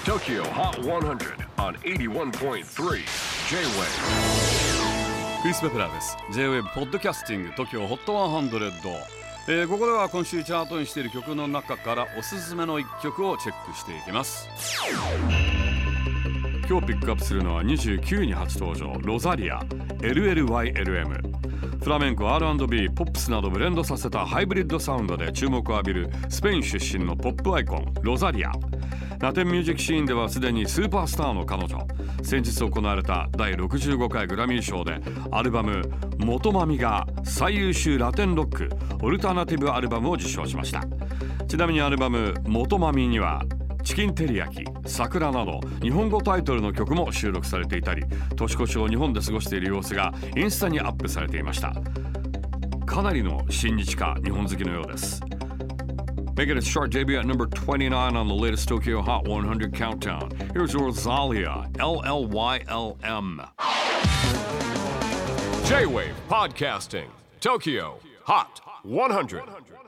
TOKYO HOT 100 on 81.3 J-WAVE クリス・ベプラーです。 J-WAVE ポッドキャスティング TOKYO HOT 100、ここでは今週チャートにしている曲の中からおすすめの1曲をチェックしていきます。今日ピックアップするのは29位に初登場、ロザリア LLYLM。 フラメンコ、 R&B、 ポップスなどブレンドさせたハイブリッドサウンドで注目を浴びるスペイン出身のポップアイコン、ロザリア。ラテンミュージックシーンではすでにスーパースターの彼女。先日行われた第65回グラミー賞でアルバム「元マミ」が最優秀ラテンロックオルタナティブアルバムを受賞しました。ちなみにアルバム「元マミ」にはチキンテリヤキ、桜など日本語タイトルの曲も収録されていたり、年越しを日本で過ごしている様子がインスタにアップされていました。かなりの親日家日本好きのようです。Making its chart debut at number 29 on the latest Tokyo Hot 100 countdown. Here's Rosalia, LLYLM. J-WAVE PODCASTING TOKYO HOT 100.